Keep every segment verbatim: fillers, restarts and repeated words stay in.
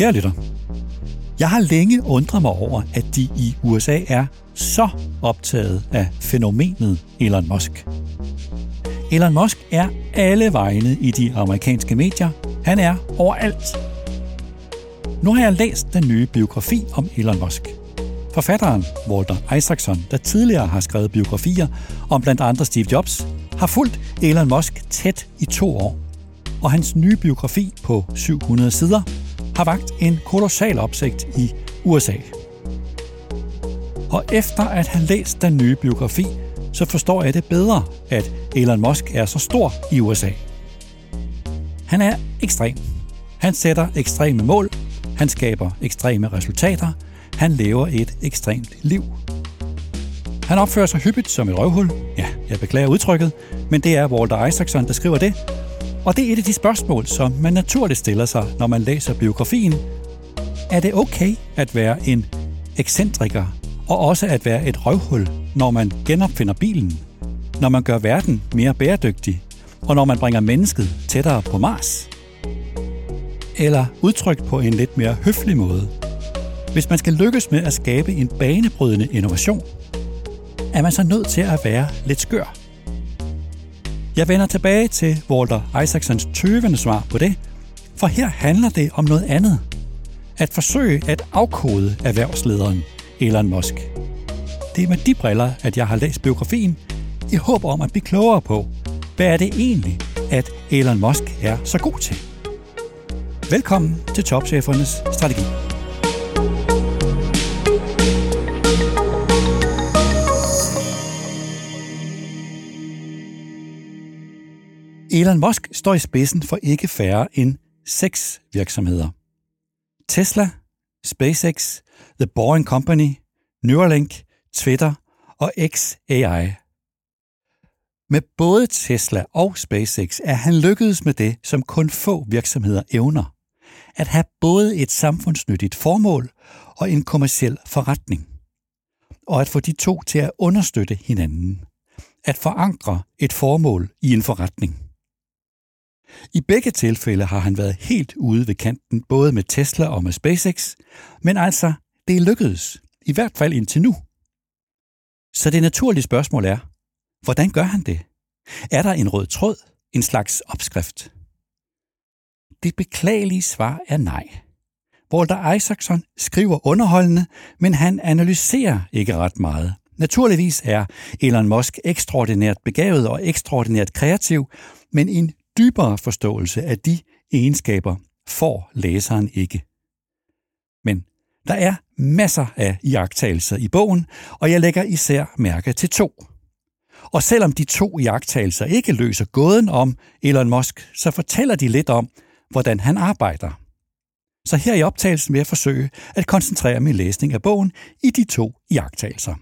Kære lytter, jeg har længe undret mig over, at de i U S A er så optaget af fænomenet Elon Musk. Elon Musk er alle vegne i de amerikanske medier. Han er overalt. Nu har jeg læst den nye biografi om Elon Musk. Forfatteren Walter Isaacson, der tidligere har skrevet biografier om blandt andre Steve Jobs, har fulgt Elon Musk tæt i to år. Og hans nye biografi på syv hundrede sider har vakt en kolossal opsigt i U S A. Og efter at have læst den nye biografi, så forstår jeg det bedre, at Elon Musk er så stor i U S A. Han er ekstrem. Han sætter ekstreme mål. Han skaber ekstreme resultater. Han lever et ekstremt liv. Han opfører sig hyppigt som et røvhul. Ja, jeg beklager udtrykket, men det er Walter Isaacson, der skriver det. Og det er et af de spørgsmål, som man naturligt stiller sig, når man læser biografien. Er det okay at være en ekscentriker, og også at være et røvhul, når man genopfinder bilen, når man gør verden mere bæredygtig, og når man bringer mennesket tættere på Mars? Eller udtrykt på en lidt mere høflig måde. Hvis man skal lykkes med at skabe en banebrydende innovation, er man så nødt til at være lidt skør. Jeg vender tilbage til Walter Isaacsons tøvende svar på det, for her handler det om noget andet. At forsøge at afkode erhvervslederen Elon Musk. Det er med de briller, at jeg har læst biografien, i håb om at blive klogere på, hvad er det egentlig, at Elon Musk er så god til. Velkommen til Topchefernes Strategi. Elon Musk står i spidsen for ikke færre end seks virksomheder. Tesla, SpaceX, The Boring Company, Neuralink, Twitter og X A I. Med både Tesla og SpaceX er han lykkedes med det, som kun få virksomheder evner. At have både et samfundsnyttigt formål og en kommerciel forretning. Og at få de to til at understøtte hinanden. At forankre et formål i en forretning. I begge tilfælde har han været helt ude ved kanten, både med Tesla og med SpaceX, men altså, det er lykkedes, i hvert fald indtil nu. Så det naturlige spørgsmål er, hvordan gør han det? Er der en rød tråd, en slags opskrift? Det beklagelige svar er nej. Walter Isaacson skriver underholdende, men han analyserer ikke ret meget. Naturligvis er Elon Musk ekstraordinært begavet og ekstraordinært kreativ, men en dybere forståelse af de egenskaber får læseren ikke. Men der er masser af iagttagelser i bogen, og jeg lægger især mærke til to. Og selvom de to iagttagelser ikke løser gåden om Elon Musk, så fortæller de lidt om, hvordan han arbejder. Så her i optagelsen vil jeg forsøge at koncentrere min læsning af bogen i de to iagttagelser.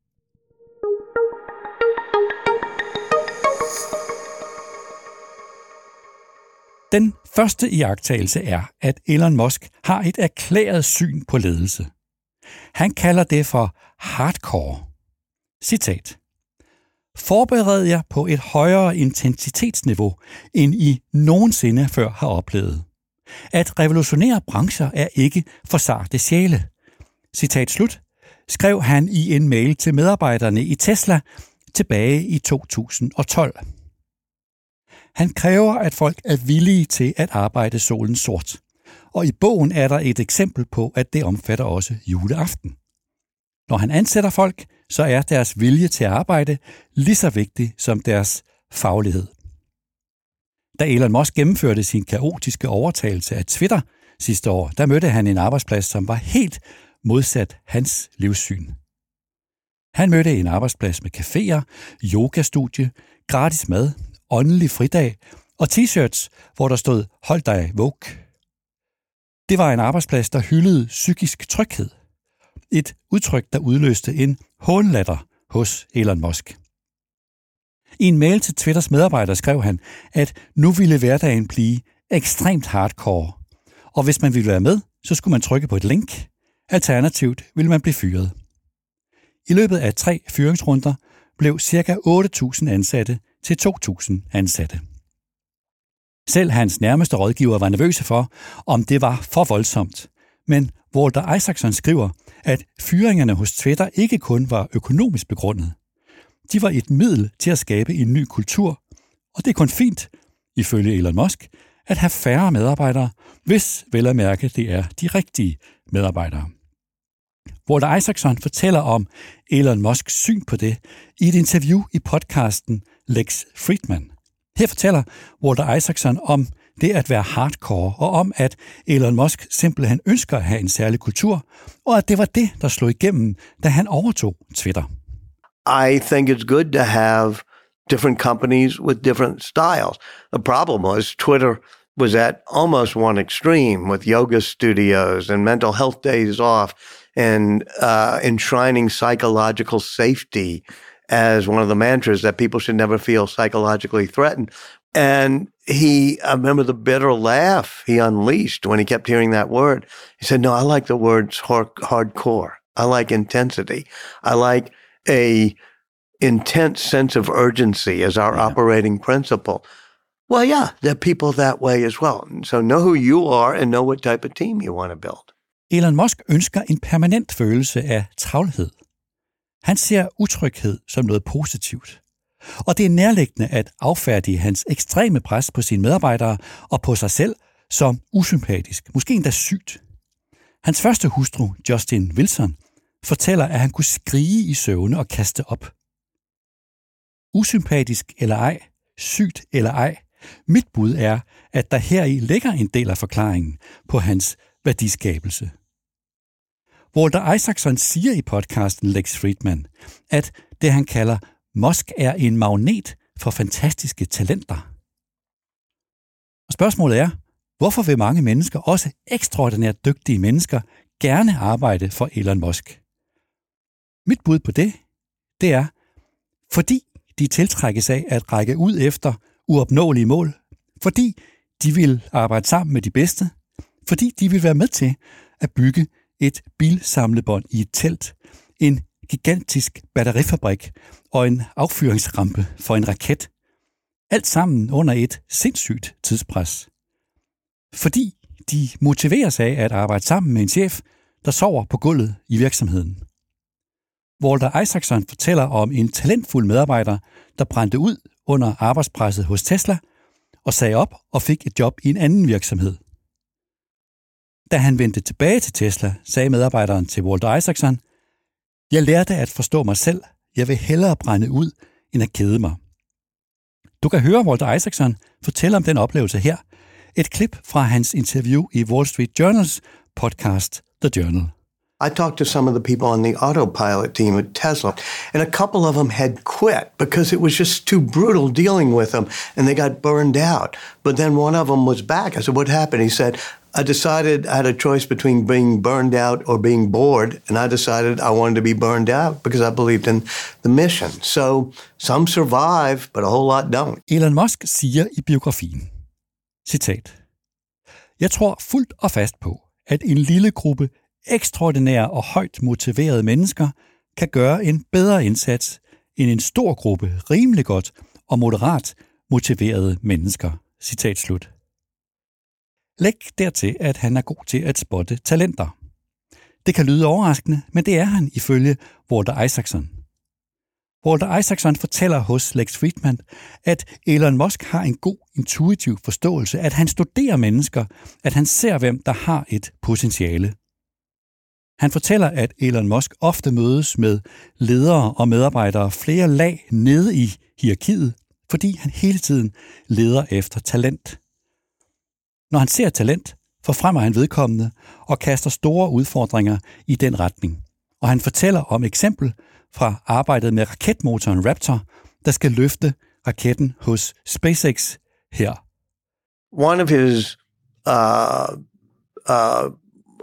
Den første iagttagelse er, at Elon Musk har et erklæret syn på ledelse. Han kalder det for hardcore. Citat. Forbered jer på et højere intensitetsniveau, end I nogensinde før har oplevet. At revolutionere brancher er ikke for sarte sjæle. Citat slut, skrev han i en mail til medarbejderne i Tesla tilbage i to tusind og tolv. Han kræver, at folk er villige til at arbejde solen sort. Og i bogen er der et eksempel på, at det omfatter også juleaften. Når han ansætter folk, så er deres vilje til at arbejde lige så vigtig som deres faglighed. Da Elon Musk gennemførte sin kaotiske overtagelse af Twitter sidste år, der mødte han en arbejdsplads, som var helt modsat hans livssyn. Han mødte en arbejdsplads med caféer, yogastudie, gratis mad, åndelig fridag og t-shirts, hvor der stod "Hold dig woke". Det var en arbejdsplads, der hyldede psykisk tryghed. Et udtryk, der udløste en hånlatter hos Elon Musk. I en mail til Twitters medarbejdere skrev han, at nu ville hverdagen blive ekstremt hardcore, og hvis man ville være med, så skulle man trykke på et link. Alternativt ville man blive fyret. I løbet af tre fyringsrunder blev ca. otte tusind ansatte til to tusind ansatte. Selv hans nærmeste rådgiver var nervøse for, om det var for voldsomt, Men Walter Isaacson skriver, at fyringerne hos Twitter ikke kun var økonomisk begrundet. De var et middel til at skabe en ny kultur, og det er kun fint, ifølge Elon Musk, at have færre medarbejdere, hvis vel at mærke det er de rigtige medarbejdere. Walter Isaacson fortæller om Elon Musks syn på det i et interview i podcasten Lex Fridman. Her fortæller Walter Isaacson om det at være hardcore, og om at Elon Musk simpelthen ønsker at have en særlig kultur, og at det var det, der slog igennem, da han overtog Twitter. I think it's good to have different companies with different styles. The problem was Twitter was at almost one extreme with yoga studios and mental health days off and uh, enshrining psychological safety as one of the mantras that people should never feel psychologically threatened. And he, I remember the bitter laugh he unleashed when he kept hearing that word. He said, no, I like the words hard- hardcore. I like intensity. I like a intense sense of urgency as our yeah. operating principle. Well, yeah, there are people that way as well. So know who you are and know what type of team you want to build. Elon Musk ønsker en permanent følelse af travlhed. Han ser utryghed som noget positivt. Og det er nærliggende at affærdige hans ekstreme pres på sine medarbejdere og på sig selv som usympatisk, måske endda sygt. Hans første hustru, Justin Wilson, fortæller, at han kunne skrige i søvne og kaste op. Usympatisk eller ej, sygt eller ej, mit bud er, at der heri ligger en del af forklaringen på hans værdiskabelse. Walter Isaacson siger i podcasten Lex Fridman, at det han kalder Musk er en magnet for fantastiske talenter. Og spørgsmålet er, hvorfor vil mange mennesker, også ekstraordinært dygtige mennesker, gerne arbejde for Elon Musk? Mit bud på det, det er, fordi de tiltrækkes af at række ud efter uopnåelige mål, fordi de vil arbejde sammen med de bedste, fordi de vil være med til at bygge et bilsamlebånd i et telt, en gigantisk batterifabrik og en affyringsrampe for en raket. Alt sammen under et sindssygt tidspres. Fordi de motiveres af at arbejde sammen med en chef, der sover på gulvet i virksomheden. Walter Isaacson fortæller om en talentfuld medarbejder, der brændte ud under arbejdspresset hos Tesla og sagde op og fik et job i en anden virksomhed. Da han vendte tilbage til Tesla, sagde medarbejderen til Walter Isaacson, jeg lærte at forstå mig selv. Jeg vil hellere brænde ud, end at kede mig. Du kan høre Walter Isaacson fortælle om den oplevelse her. Et klip fra hans interview i Wall Street Journals podcast The Journal. I talked to some of the people on the autopilot team at Tesla, and a couple of them had quit because it was just too brutal dealing with them, and they got burned out. But then one of them was back. I said, what happened? He said, I decided I had a choice between being burned out or being bored, and I decided I wanted to be burned out because I believed in the mission. So some survive, but a whole lot don't. Elon Musk siger i biografien, citat, jeg tror fuldt og fast på, at en lille gruppe ekstraordinære og højt motiverede mennesker kan gøre en bedre indsats end en stor gruppe rimelig godt og moderat motiverede mennesker. Citat slut. Læg dertil, at han er god til at spotte talenter. Det kan lyde overraskende, men det er han ifølge Walter Isaacson. Walter Isaacson fortæller hos Lex Fridman, at Elon Musk har en god intuitiv forståelse, at han studerer mennesker, at han ser, hvem der har et potentiale. Han fortæller, at Elon Musk ofte mødes med ledere og medarbejdere flere lag nede i hierarkiet, fordi han hele tiden leder efter talent. Når han ser talent, forfremmer han vedkommende og kaster store udfordringer i den retning. Og han fortæller om eksempel fra arbejdet med raketmotoren Raptor, der skal løfte raketten hos SpaceX her. One of his uh, uh,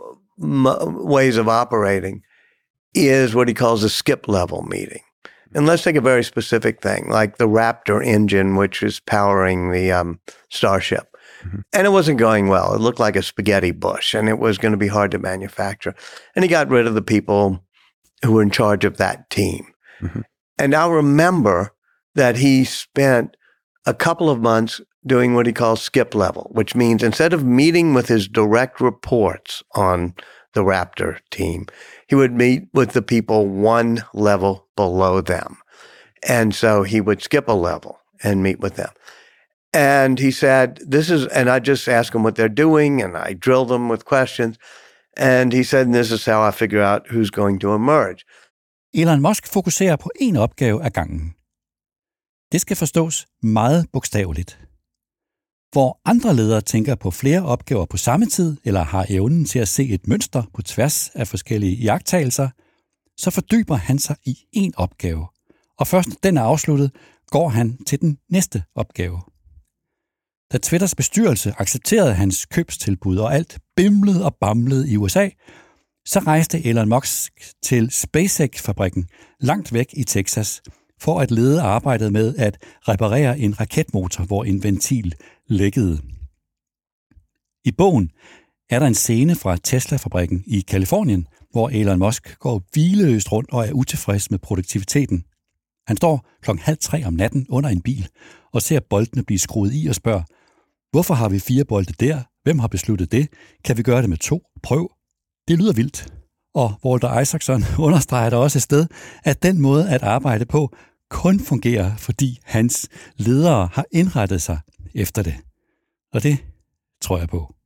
m- ways of operating is what he calls a skip level meeting. And let's take a very specific thing, like the Raptor engine, which is powering the um, Starship. Mm-hmm. And it wasn't going well. It looked like a spaghetti bush, and it was going to be hard to manufacture. And he got rid of the people who were in charge of that team. Mm-hmm. And I remember that he spent a couple of months doing what he calls skip level, which means instead of meeting with his direct reports on the Raptor team. He would meet with the people one level below them. And so he would skip a level and meet with them. And he said, this is, and I just ask them what they're doing, and I drill them with questions. And he said, this is how I figure out who's going to emerge. Elon Musk fokuserer på en opgave ad gangen. Det skal forstås meget bogstaveligt. Hvor andre ledere tænker på flere opgaver på samme tid, eller har evnen til at se et mønster på tværs af forskellige iagttagelser, så fordyber han sig i en opgave. Og først når den er afsluttet, går han til den næste opgave. Da Twitters bestyrelse accepterede hans købstilbud, og alt bimlede og bamlede i U S A, så rejste Elon Musk til SpaceX-fabrikken langt væk i Texas, for at lede arbejdet med at reparere en raketmotor, hvor en ventil lækkede. I bogen er der en scene fra Tesla-fabrikken i Kalifornien, hvor Elon Musk går hvileløst rundt og er utilfreds med produktiviteten. Han står klokken halv tre om natten under en bil og ser boltene blive skruet i og spørger, hvorfor har vi fire bolde der? Hvem har besluttet det? Kan vi gøre det med to? Prøv. Det lyder vildt. Og Walter Isaacson understreger der også et sted, at den måde at arbejde på kun fungerer, fordi hans ledere har indrettet sig efter det. Og det tror jeg på.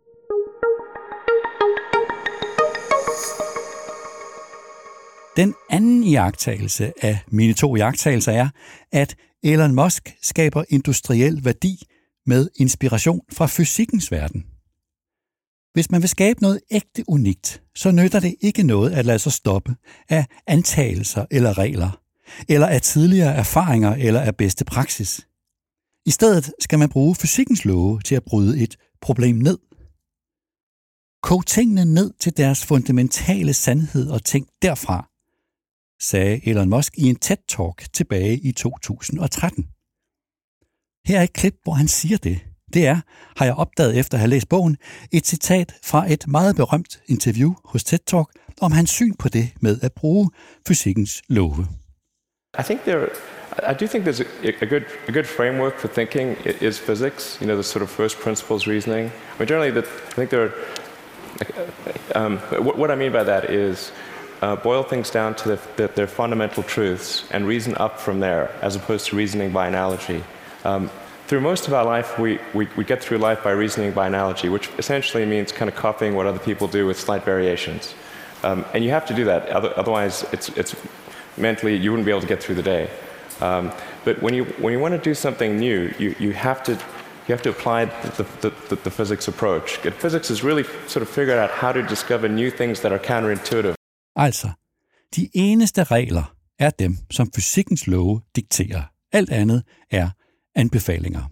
Den anden iagttagelse af mine to iagttagelser er, at Elon Musk skaber industriel værdi med inspiration fra fysikkens verden. Hvis man vil skabe noget ægte unikt, så nytter det ikke noget at lade sig stoppe af antagelser eller regler, eller af tidligere erfaringer eller af bedste praksis. I stedet skal man bruge fysikkens love til at bryde et problem ned. Kog tingene ned til deres fundamentale sandhed og tænk derfra, sagde Elon Musk i en TED-talk tilbage i to tusind og tretten. Her er et klip, hvor han siger det. Det er, har jeg opdaget efter at have læst bogen, et citat fra et meget berømt interview hos TED Talk om hans syn på det med at bruge fysikkens love. I think there, I do think there's a, a good a good framework for thinking is physics. You know, the sort of first principles reasoning. I mean, generally, that I think there. Are, um, what, what I mean by that is uh, boil things down to the, the, their fundamental truths and reason up from there, as opposed to reasoning by analogy. Um, Through most of our life, we, we, we get through life by reasoning by analogy, which essentially means kind of copying what other people do with slight variations. Um, and you have to do that, otherwise it's, it's mentally, you wouldn't be able to get through the day. Um, but when you, when you want to do something new, you, you, have, to, you have to apply the, the, the, the physics approach. And physics is really sort of figured out how to discover new things that are counterintuitive. Altså, de eneste regler er dem, som fysikkens love dikterer. Alt andet er anbefalinger.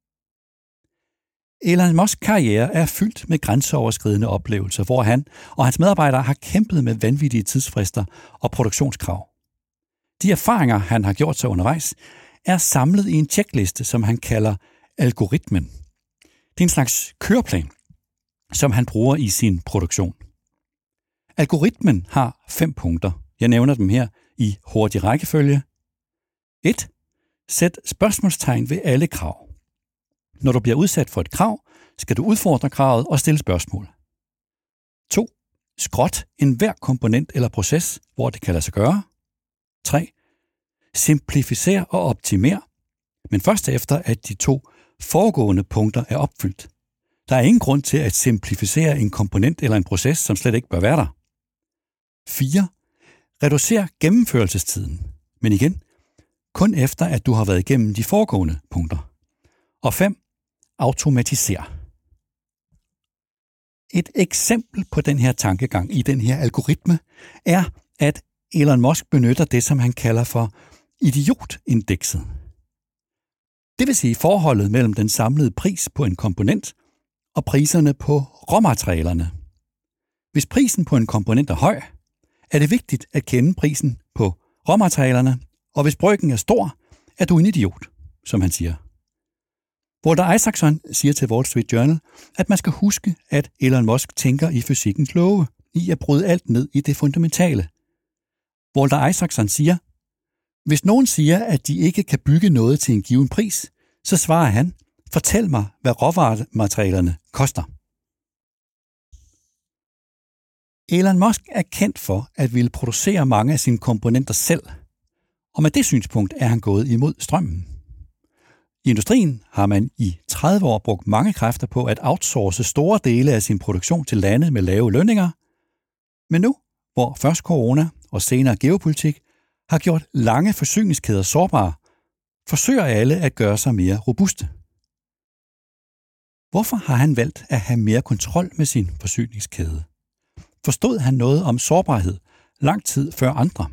Elon Musks karriere er fyldt med grænseoverskridende oplevelser, hvor han og hans medarbejdere har kæmpet med vanvittige tidsfrister og produktionskrav. De erfaringer, han har gjort sig undervejs, er samlet i en checkliste, som han kalder algoritmen. Det er en slags køreplan, som han bruger i sin produktion. Algoritmen har fem punkter. Jeg nævner dem her i hurtig rækkefølge. et. Sæt spørgsmålstegn ved alle krav. Når du bliver udsat for et krav, skal du udfordre kravet og stille spørgsmål. to. Skrot enhver komponent eller proces, hvor det kan lade sig gøre. tre. Simplificer og optimer, men først efter, at de to foregående punkter er opfyldt. Der er ingen grund til at simplificere en komponent eller en proces, som slet ikke bør være der. fire. Reducer gennemførelsestiden, men igen, kun efter, at du har været igennem de foregående punkter. Og fem. Automatiser. Et eksempel på den her tankegang i den her algoritme er, at Elon Musk benytter det, som han kalder for idiotindekset. Det vil sige forholdet mellem den samlede pris på en komponent og priserne på råmaterialerne. Hvis prisen på en komponent er høj, er det vigtigt at kende prisen på råmaterialerne, og hvis brøken er stor, er du en idiot, som han siger. Walter Isaacson siger til Wall Street Journal, at man skal huske, at Elon Musk tænker i fysikkens love, i at bryde alt ned i det fundamentale. Walter Isaacson siger, hvis nogen siger, at de ikke kan bygge noget til en given pris, så svarer han, fortæl mig, hvad råvarematerialerne koster. Elon Musk er kendt for at ville producere mange af sine komponenter selv, og med det synspunkt er han gået imod strømmen. I industrien har man i tredive år brugt mange kræfter på at outsource store dele af sin produktion til lande med lave lønninger, men nu, hvor først corona og senere geopolitik har gjort lange forsyningskæder sårbare, forsøger alle at gøre sig mere robuste. Hvorfor har han valgt at have mere kontrol med sin forsyningskæde? Forstod han noget om sårbarhed lang tid før andre?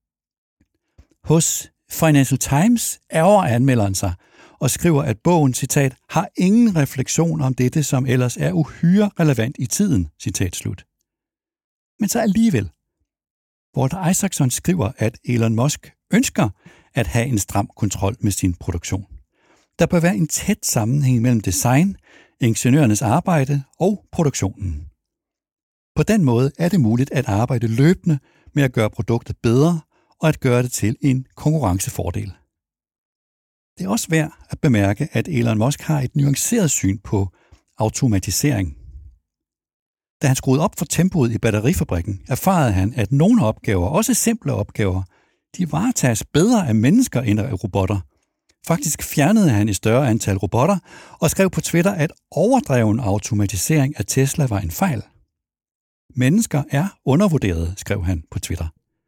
Hos Financial Times ærger anmelderen sig og skriver, at bogen, citat, har ingen refleksion om dette, som ellers er uhyre relevant i tiden, citat slut. Men så alligevel. Walter Isaacson skriver, at Elon Musk ønsker at have en stram kontrol med sin produktion. Der bør være en tæt sammenhæng mellem design, ingeniørernes arbejde og produktionen. På den måde er det muligt at arbejde løbende med at gøre produktet bedre og at gøre det til en konkurrencefordel. Det er også værd at bemærke, at Elon Musk har et nuanceret syn på automatisering. Da han skruede op for tempoet i batterifabrikken, erfarede han, at nogle opgaver, også simple opgaver, de varetages bedre af mennesker end af robotter. Faktisk fjernede han et større antal robotter og skrev på Twitter, at overdreven automatisering af Tesla var en fejl. Mennesker er undervurderet, skrev han på Twitter.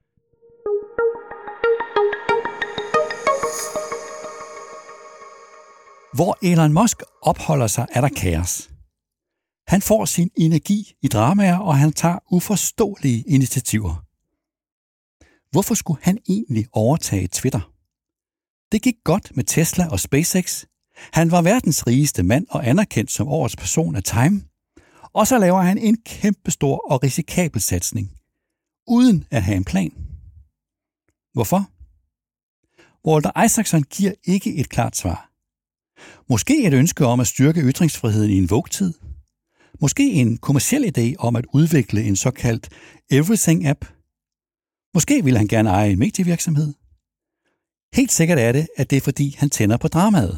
Hvor Elon Musk opholder sig, er der kaos. Han får sin energi i dramaer, og han tager uforståelige initiativer. Hvorfor skulle han egentlig overtage Twitter? Det gik godt med Tesla og SpaceX. Han var verdens rigeste mand og anerkendt som årets person af Time. Og så laver han en kæmpestor og risikabel satsning, uden at have en plan. Hvorfor? Walter Isaacson giver ikke et klart svar. Måske et ønske om at styrke ytringsfriheden i en Vogue-tid. Måske en kommerciel idé om at udvikle en såkaldt Everything-app. Måske vil han gerne eje en medievirksomhed. Helt sikkert er det, at det er fordi, han tænder på dramaet.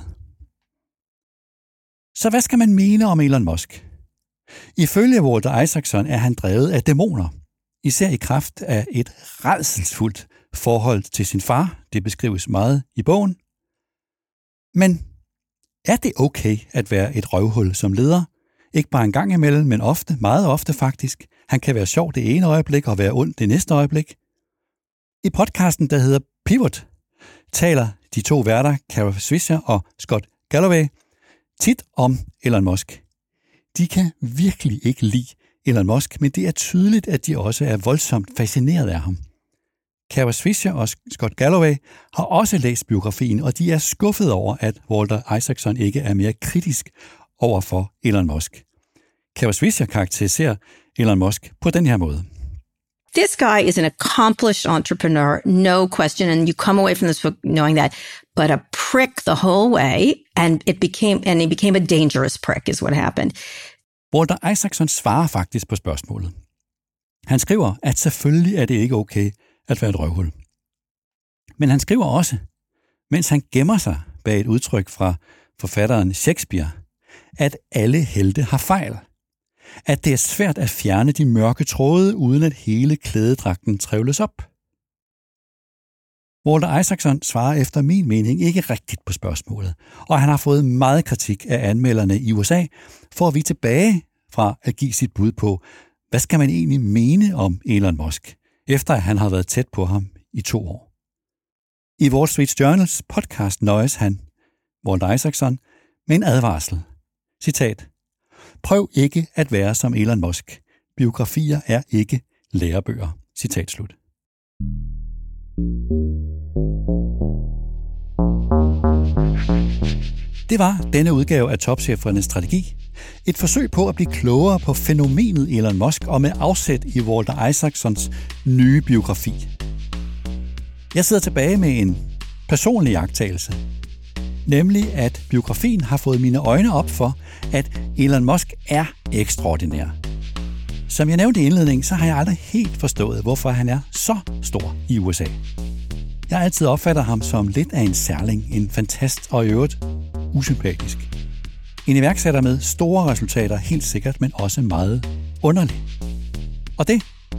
Så hvad skal man mene om Elon Musk? Ifølge Walter Isaacson er han drevet af dæmoner, især i kraft af et rædselsfuldt forhold til sin far. Det beskrives meget i bogen. Men er det okay at være et røvhul som leder? Ikke bare en gang imellem, men ofte, meget ofte faktisk. Han kan være sjov det ene øjeblik og være ond det næste øjeblik. I podcasten, der hedder Pivot, taler de to værter, Kara Swisher og Scott Galloway, tit om Elon Musk. De kan virkelig ikke lide Elon Musk, men det er tydeligt, at de også er voldsomt fascineret af ham. Kara Swisher og Scott Galloway har også læst biografien, og de er skuffet over, at Walter Isaacson ikke er mere kritisk over for Elon Musk. Kara Swisher karakteriserer Elon Musk på den her måde. This guy is an accomplished entrepreneur, no question, and you come away from this book knowing that, but a prick the whole way, and it became and he became a dangerous prick is what happened. Walter Isaacson svarer faktisk på spørgsmålet. Han skriver, at selvfølgelig er det ikke okay at være et røvhul. Men han skriver også, mens han gemmer sig bag et udtryk fra forfatteren Shakespeare, at alle helte har fejl. At det er svært at fjerne de mørke tråde, uden at hele klædedragten trævles op. Walter Isaacson svarer efter min mening ikke rigtigt på spørgsmålet, og han har fået meget kritik af anmelderne i U S A for at vige tilbage fra at give sit bud på, hvad skal man egentlig mene om Elon Musk, efter at han har været tæt på ham i to år. I Wall Street Journals podcast nøjes han, Walter Isaacson, med en advarsel. Citat: Prøv ikke at være som Elon Musk. Biografier er ikke lærebøger. Citat slut. Det var denne udgave af Topchefernes Strategi. Et forsøg på at blive klogere på fænomenet Elon Musk og med afsæt i Walter Isaacsons nye biografi. Jeg sidder tilbage med en personlig iagttagelse, nemlig at biografien har fået mine øjne op for, at Elon Musk er ekstraordinær. Som jeg nævnte i indledningen, så har jeg aldrig helt forstået, hvorfor han er så stor i U S A. Jeg har altid opfattet ham som lidt af en særling, en fantast og i øvrigt usympatisk. En iværksætter med store resultater, helt sikkert, men også meget underlig. Og det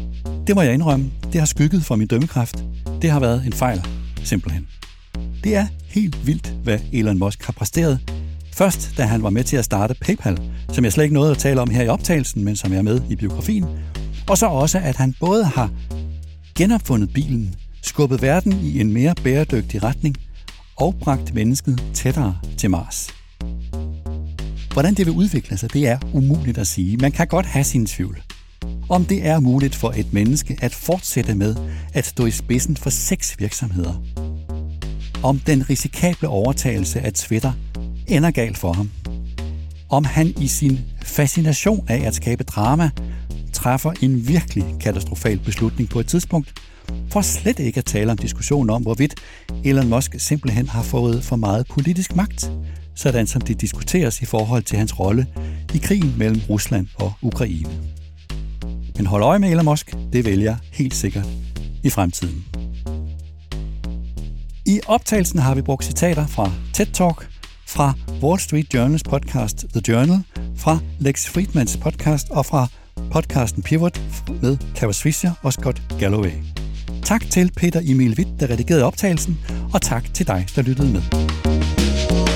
Det må jeg indrømme, det har skygget for min dømmekraft. Det har været en fejl, simpelthen. Det er helt vildt, hvad Elon Musk har præsteret. Først, da han var med til at starte PayPal, som jeg slet ikke nåede at tale om her i optagelsen, men som er med i biografien. Og så også, at han både har genopfundet bilen, skubbet verden i en mere bæredygtig retning og bragt mennesket tættere til Mars. Hvordan det vil udvikle sig, det er umuligt at sige. Man kan godt have sin tvivl. Om det er muligt for et menneske at fortsætte med at stå i spidsen for seks virksomheder. Om den risikable overtagelse af Twitter ender galt for ham. Om han i sin fascination af at skabe drama træffer en virkelig katastrofal beslutning på et tidspunkt, for slet ikke at tale om diskussionen om, hvorvidt Elon Musk simpelthen har fået for meget politisk magt, sådan som det diskuteres i forhold til hans rolle i krigen mellem Rusland og Ukraine. Men hold øje med Elon Musk, det vælger jeg helt sikkert i fremtiden. I optagelsen har vi brugt citater fra TED Talk, fra Wall Street Journals podcast The Journal, fra Lex Fridmans podcast og fra podcasten Pivot med Kaveh Swisher og Scott Galloway. Tak til Peter Emil Witt, der redigerede optagelsen, og tak til dig, der lyttede med.